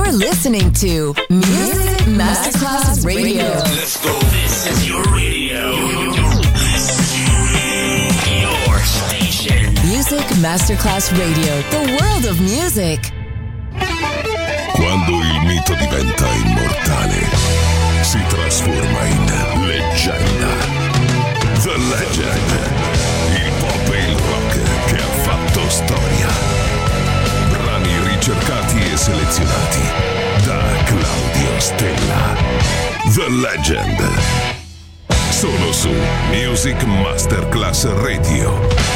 You're listening to Music Masterclass Radio. Let's go. This is your radio. Your station. Music Masterclass Radio. The world of music. Quando il mito diventa immortale, si trasforma in leggenda. The Legend. Il pop e il rock che ha fatto storia. Brani ricercati e selezionati da Claudio Stella. The Legend. Solo su Music Masterclass Radio.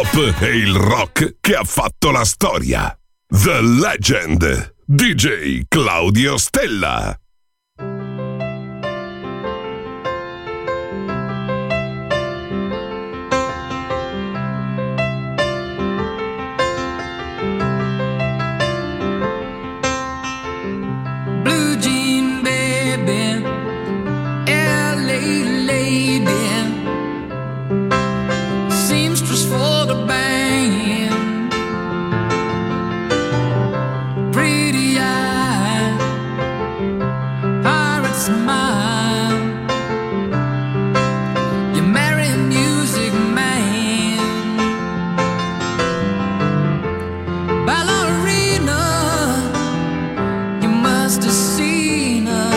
pop e il rock che ha fatto la storia. The Legend, DJ Claudio Stella. Blue jean baby, LA lady, seamstress for the band, pretty eye, pirate smile, you marry a music man, ballerina, you must have seen her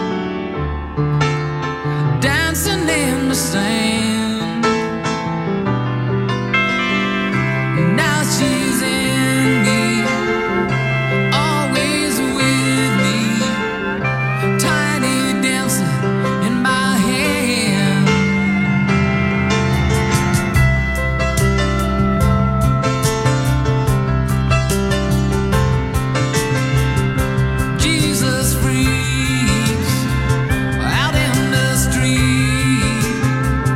dancing in the sand. Now she's in me, always with me, tiny dancer in my hand. Jesus freaks out in the street,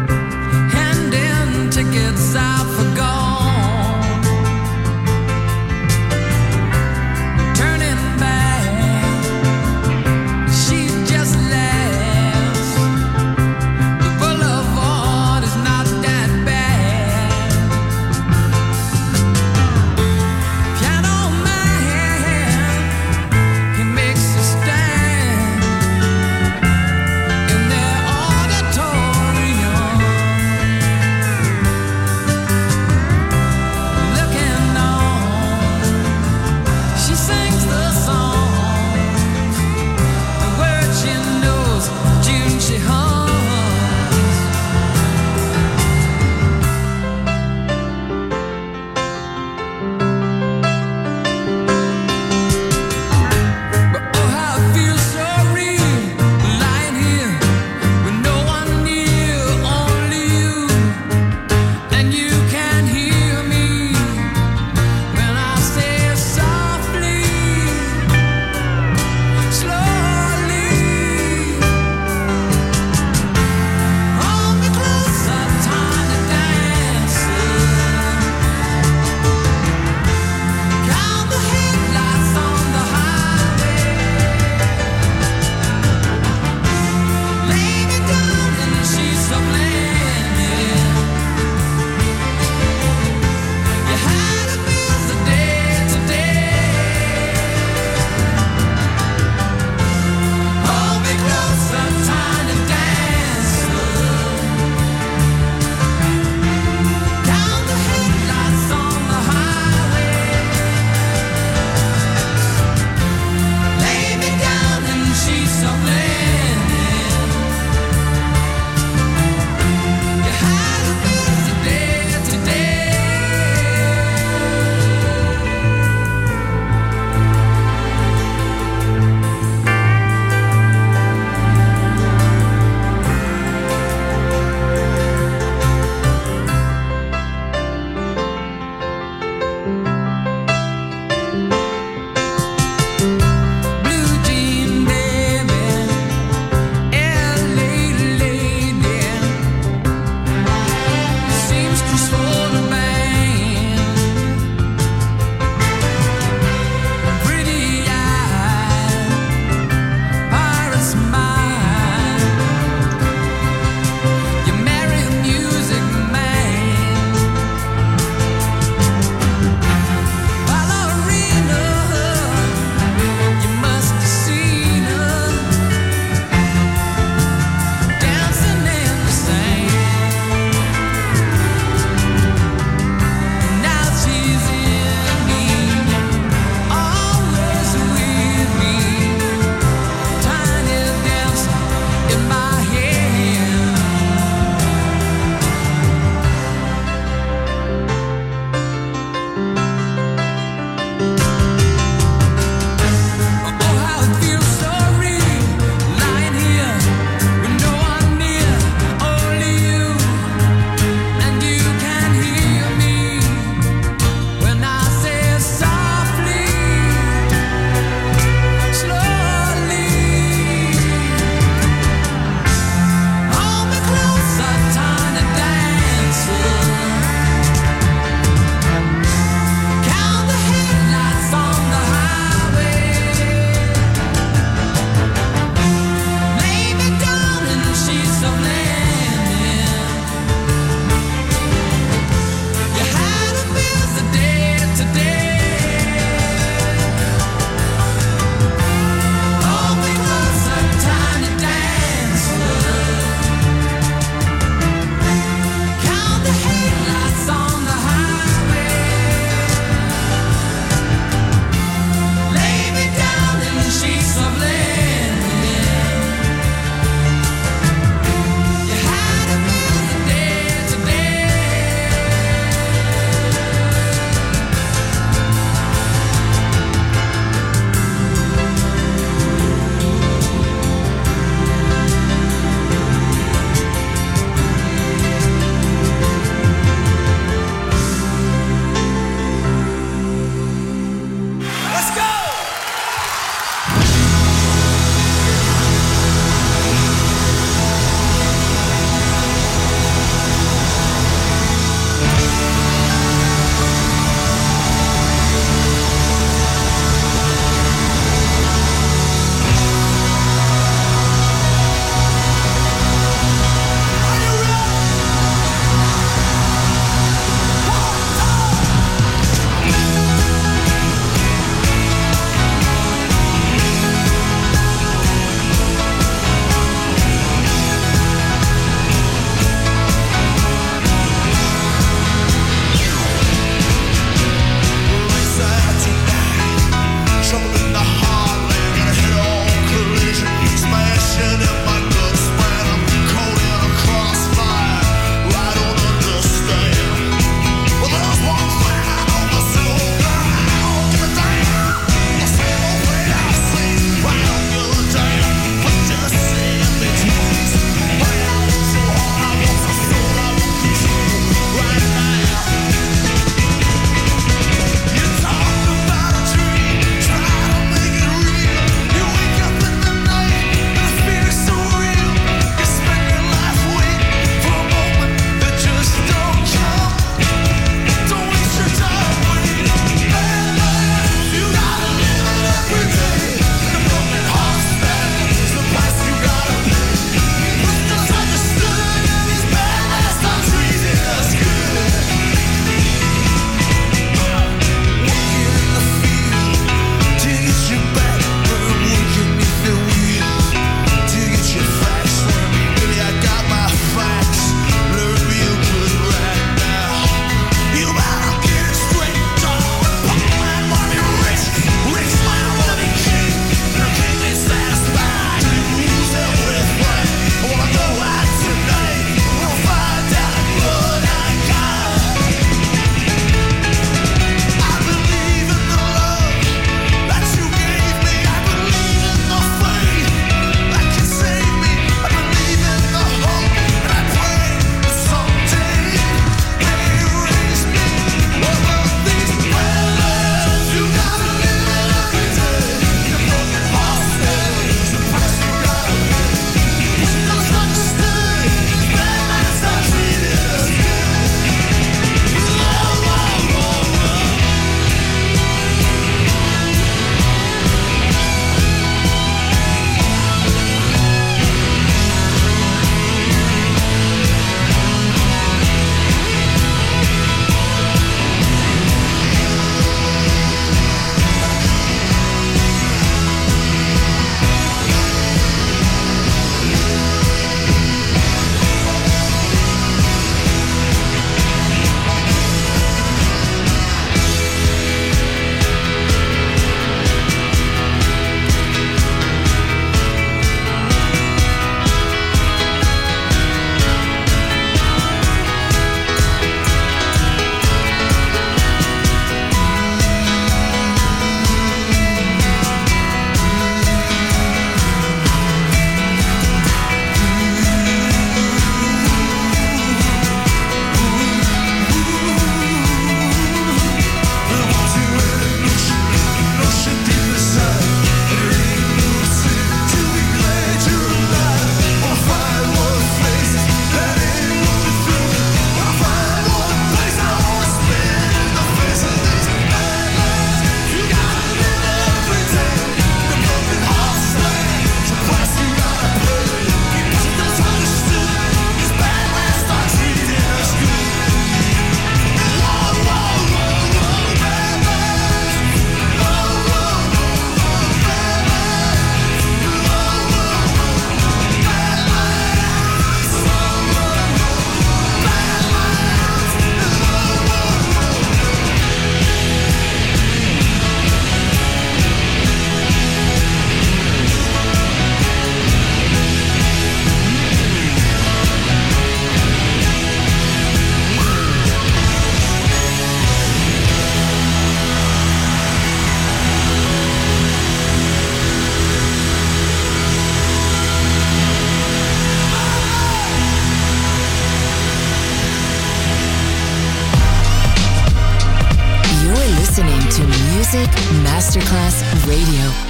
Masterclass Radio.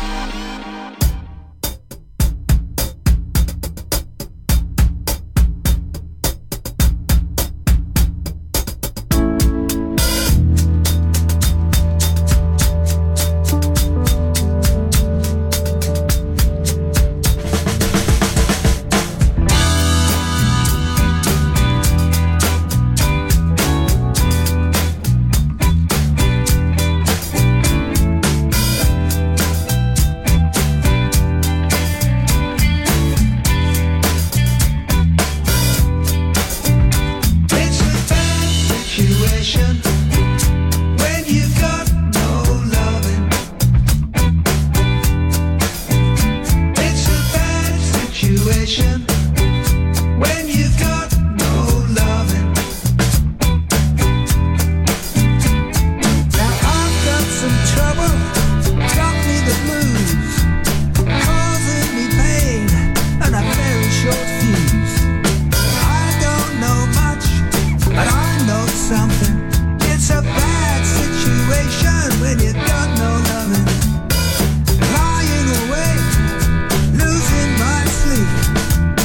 Lying awake, losing my sleep.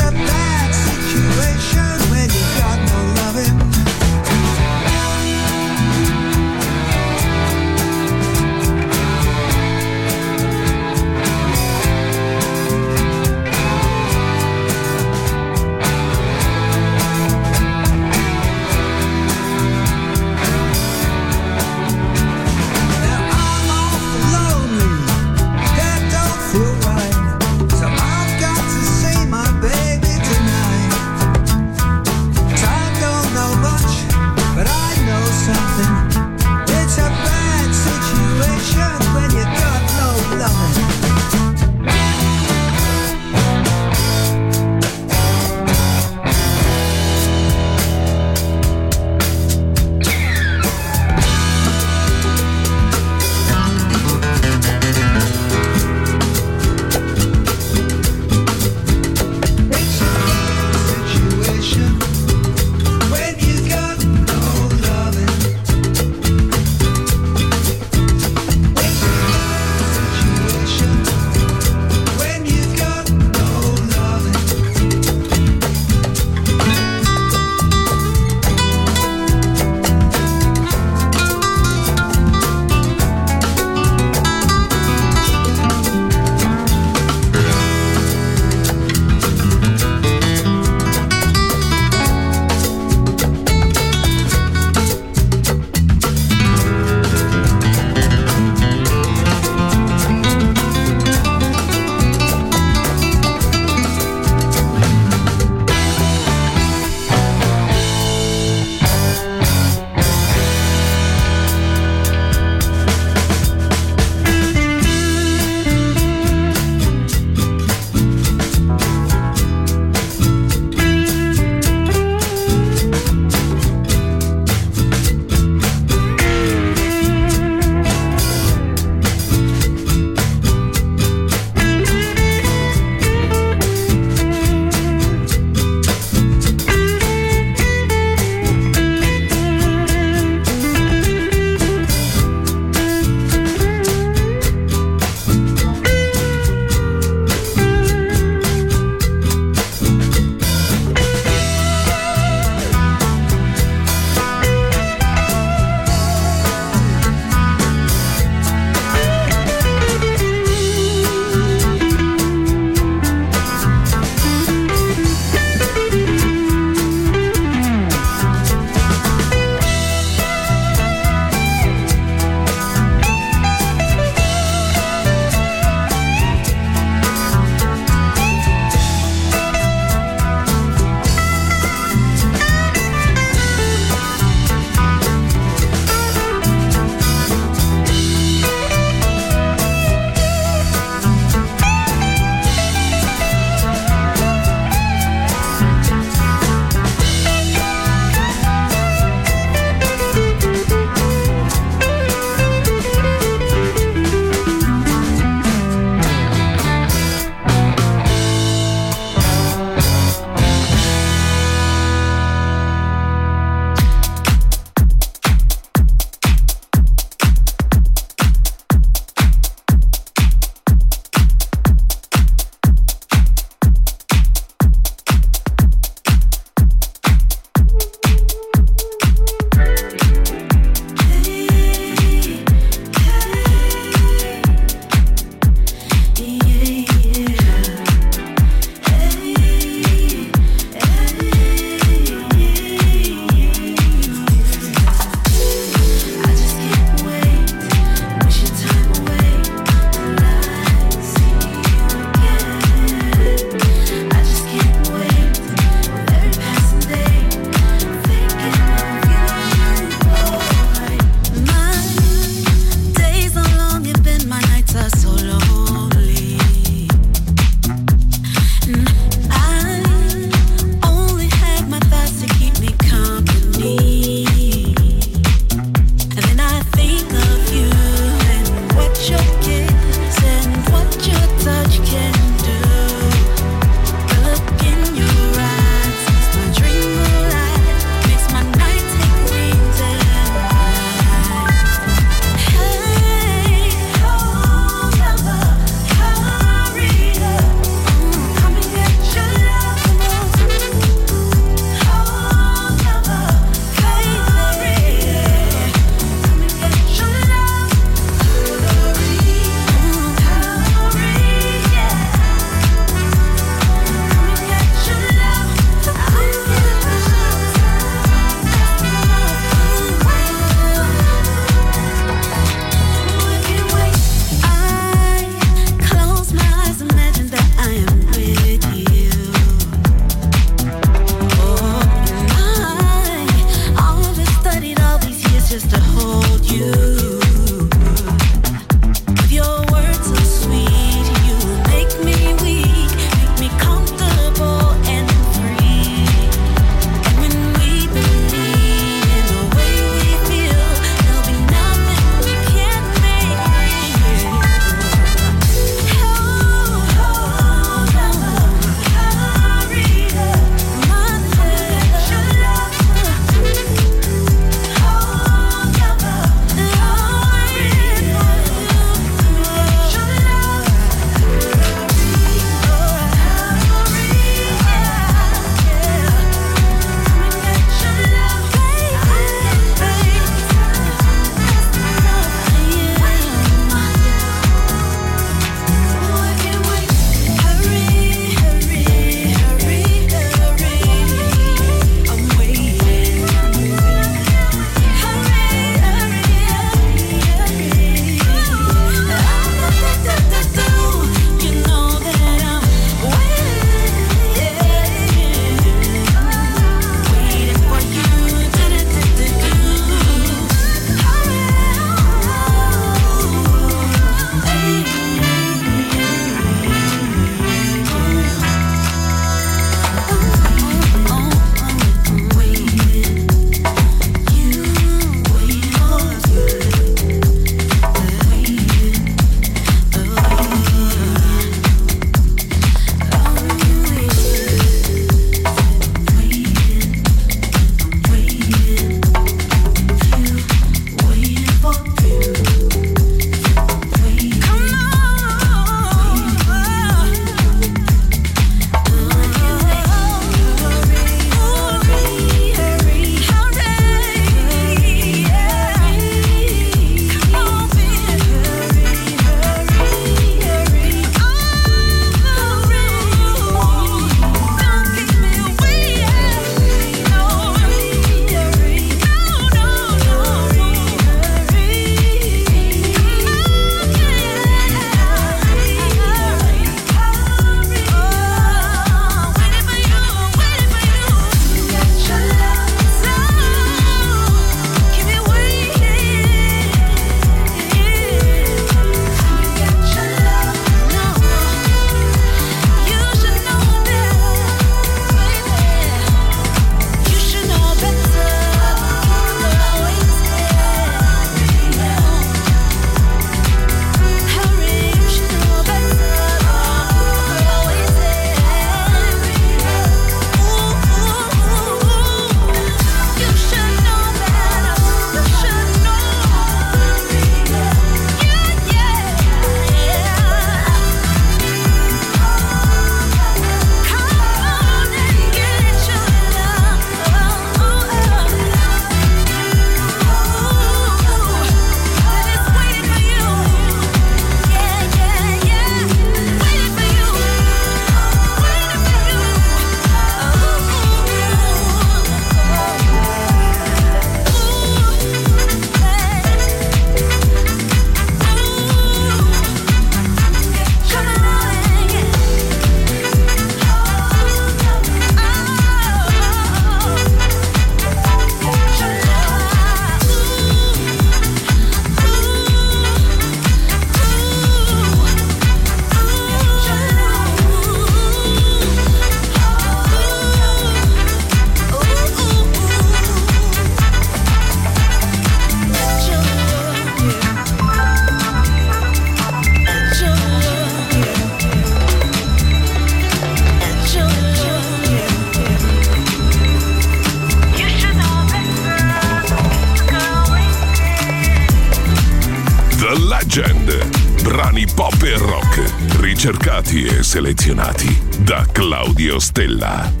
Legend. Brani pop e rock, ricercati e selezionati da Claudio Stella.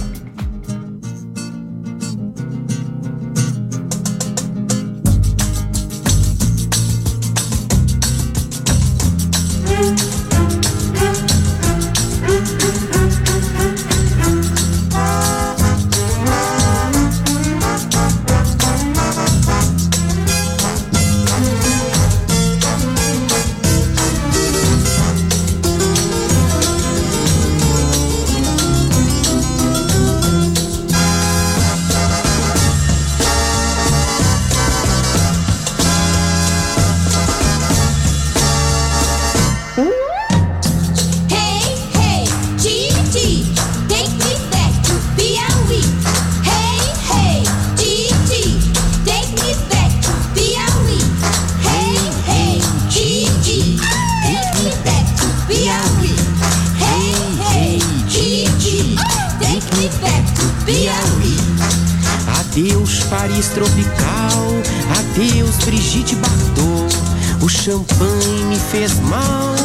Adeus Paris tropical, adeus Brigitte Bardot. O champanhe me fez mal,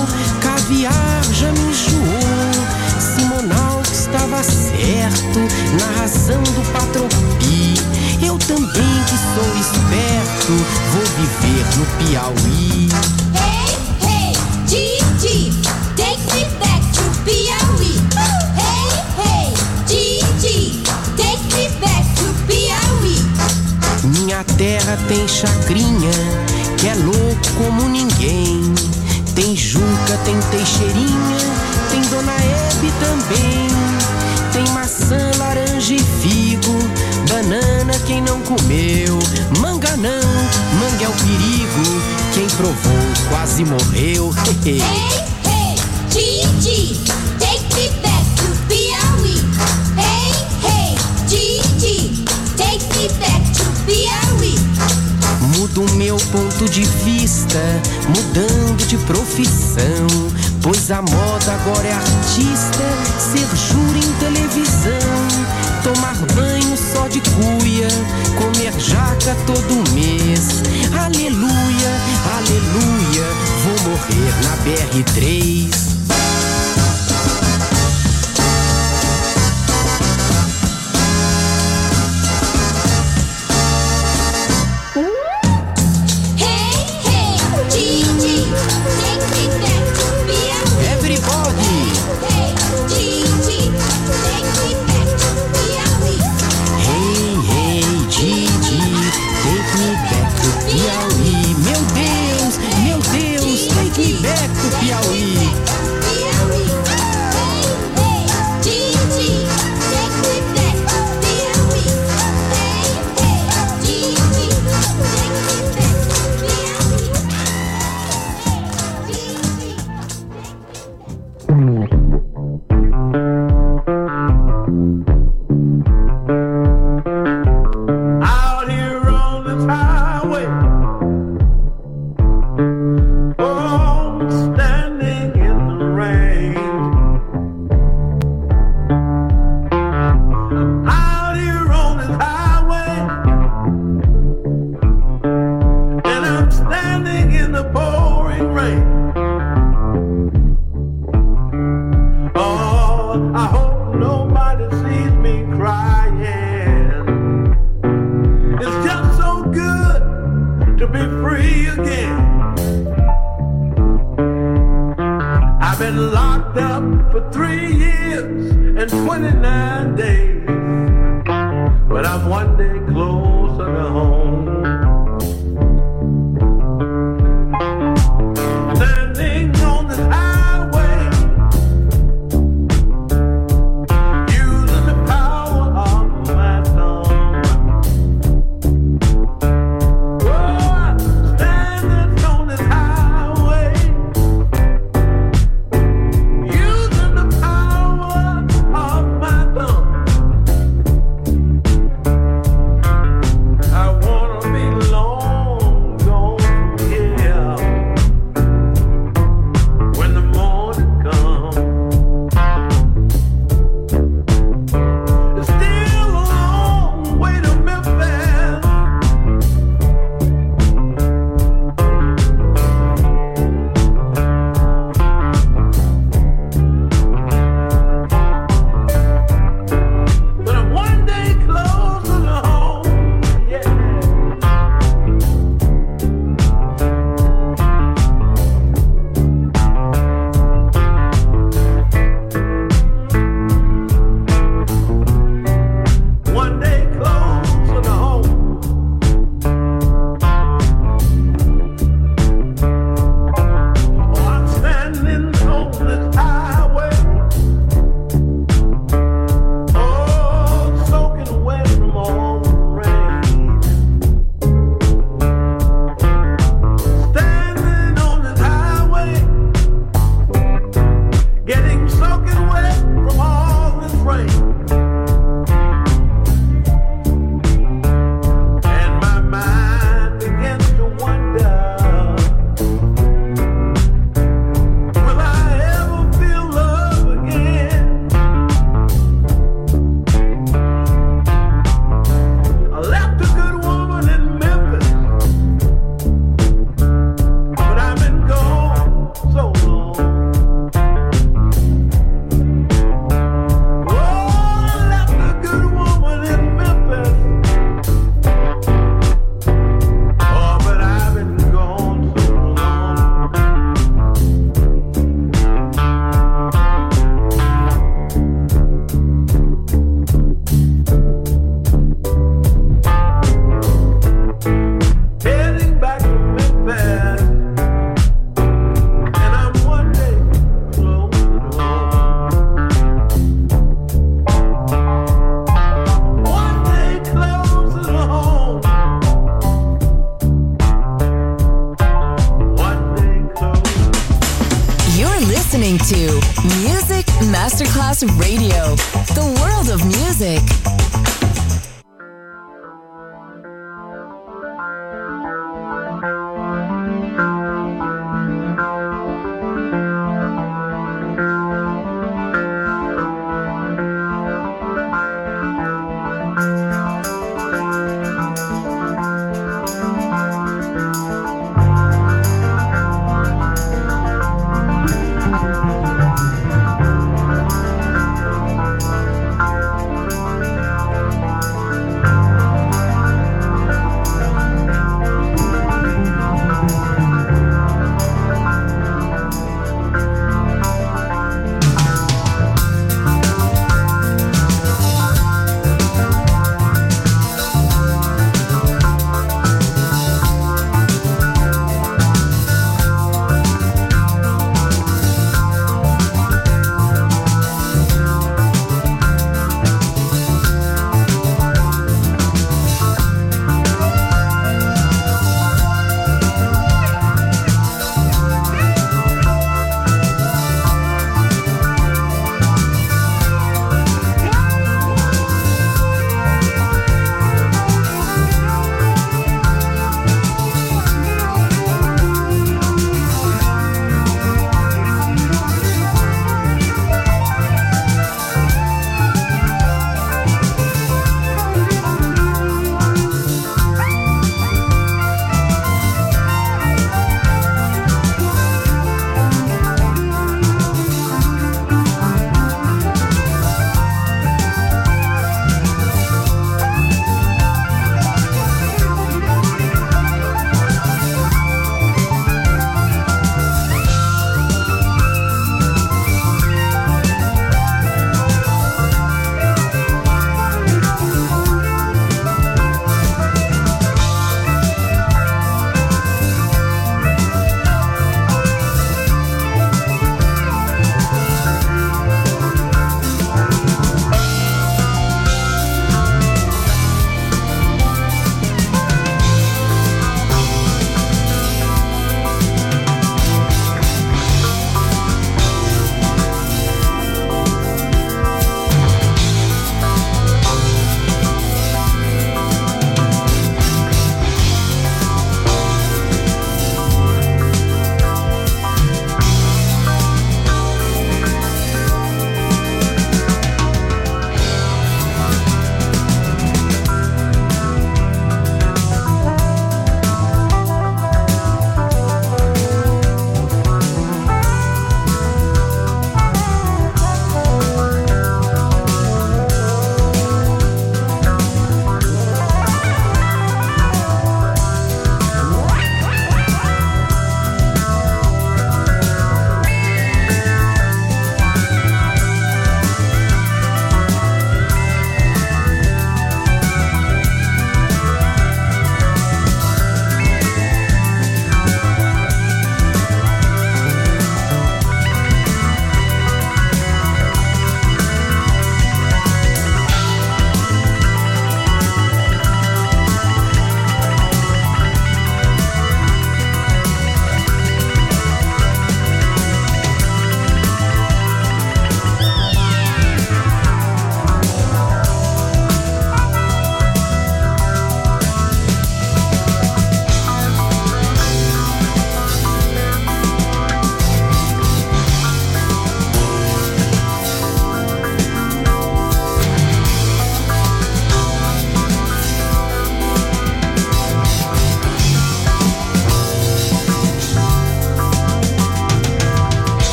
caviar já me enjoou. Simonal que estava certo na razão do Patropi. Eu também que sou esperto, vou viver no Piauí. Hey, hey, Gigi, take me back to Piauí. Hey, hey, Gigi, take me back to Piauí. Minha terra tem chacrinha, que é louco como ninguém. Tem Juca, tem Teixeirinha, tem Dona Hebe também. Tem maçã, laranja e figo, banana quem não comeu. Manga não, manga é o perigo, quem provou quase morreu. Hey, hey, Gigi, take me back to Piauí. Hey, hey, Gigi, take me back to Piauí. Mudo meu ponto de vista, mudando de profissão. Pois a moda agora é artista, ser júri em televisão. Tomar banho só de cuia, comer jaca todo mês. Aleluia, aleluia, vou morrer na BR-3. I want listening to Music Masterclass Radio, the world of music.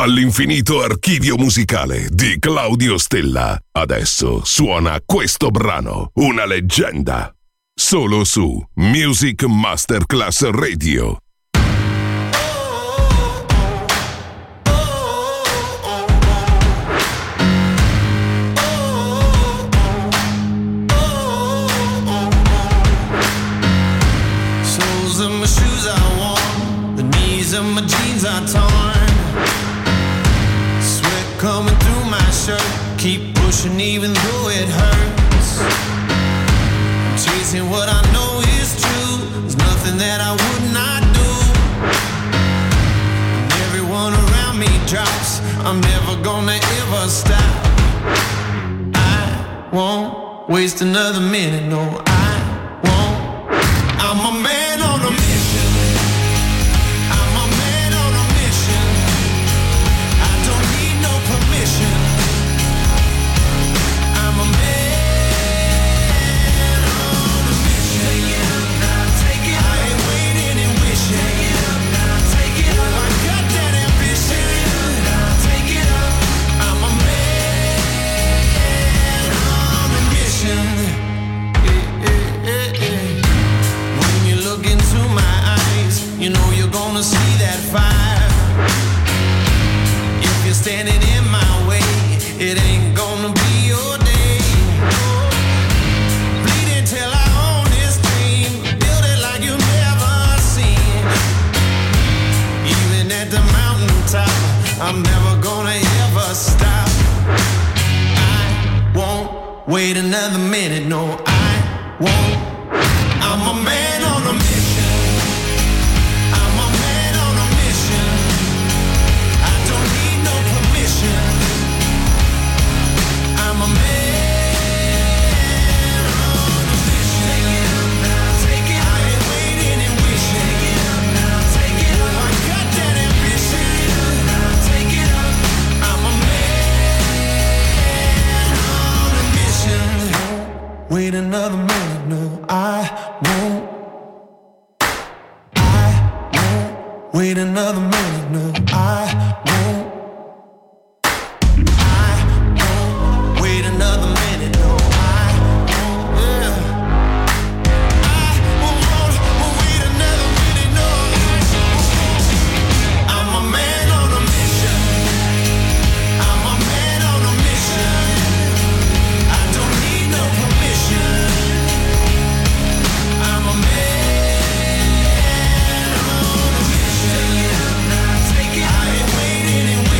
Dall'infinito archivio musicale di Claudio Stella, adesso suona questo brano, una leggenda, solo su Music Masterclass Radio. Soles of my shoes are worn, the knees of my jeans are torn. Coming through my shirt, keep pushing even though it hurts. I'm chasing what I know is true. There's nothing that I would not do. And everyone around me drops. I'm never gonna ever stop. I won't waste another minute. No, I won't. I'm a man on a mission. I'm a man on a mission. Take it up, I ain't waiting and wishing. Take it up, I got that ambition. Take it up, I'm a man on a mission. When you look into my eyes, you know you're gonna see that fire. If you're standing in my way, it ain't gonna be your day. Bleeding till I own this dream. Build it like you've never seen. Even at the mountaintop, I'm never gonna ever stop. I won't wait another minute. No, I won't. I'm a man on a mission. I'm a man on a mission. I don't need no permission. I'm a man on a mission. Take it up, I ain't waiting and wishing. Take it up, I got that ambition. Take it up, I'm a man on a mission. Wait another minute, no, I won't. I won't wait another minute, no, I won't. Wait another minute, no, I won't, yeah. I won't wait another minute, no. I'm a man on a mission. I'm a man on a mission. I don't need no permission. I'm a man on a mission. Take it, I ain't waiting and waiting.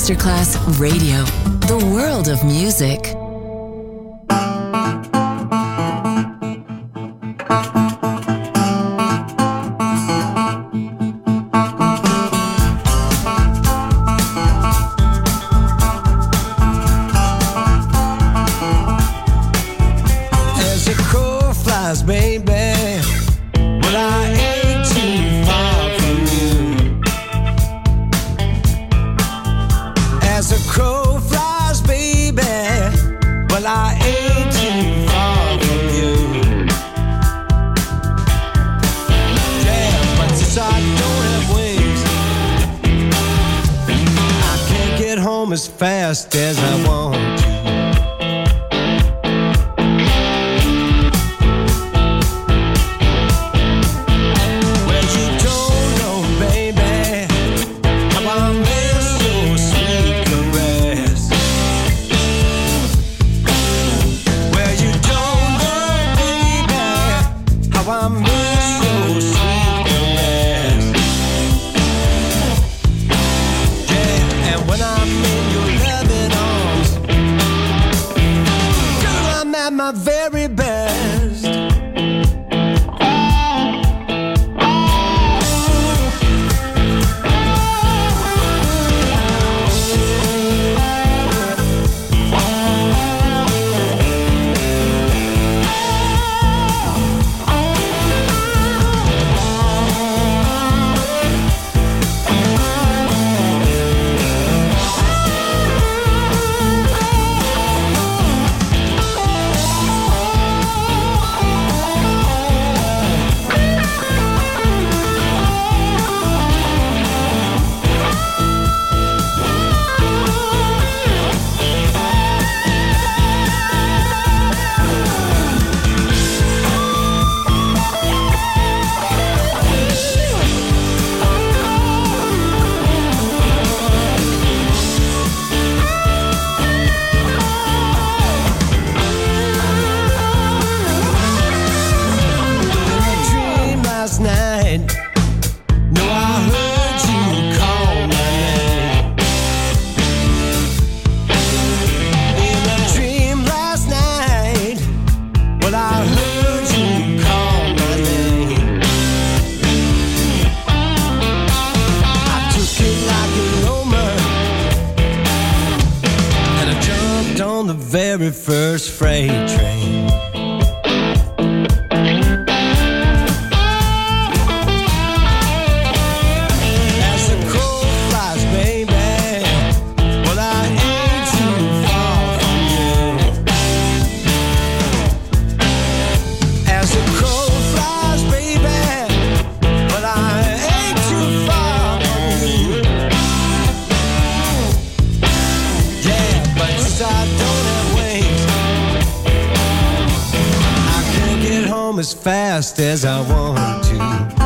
Masterclass Radio, the world of music. As a crow flies, baby, well, I ain't too far from you. As a crow flies, baby, well, I ain't too far from you. Yeah, but since I don't have wings, I can't get home as fast as I want to. My very best. Very first freight train. As the crow flies, baby, well, I ain't too far from you. As the crow flies, baby, well, I ain't too far from you. Yeah, but since I don't have as fast as I want to.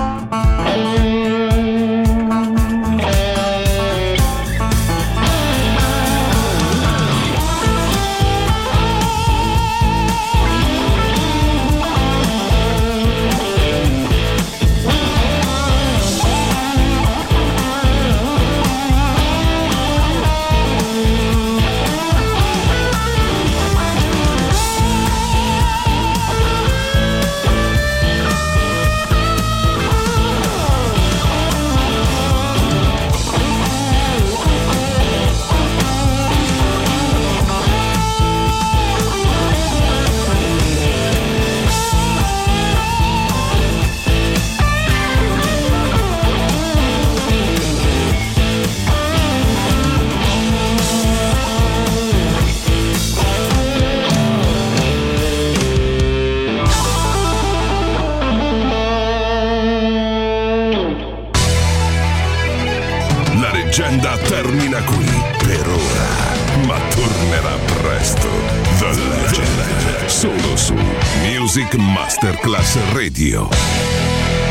Termina qui per ora, ma tornerà presto. The Legend, solo su Music Masterclass Radio.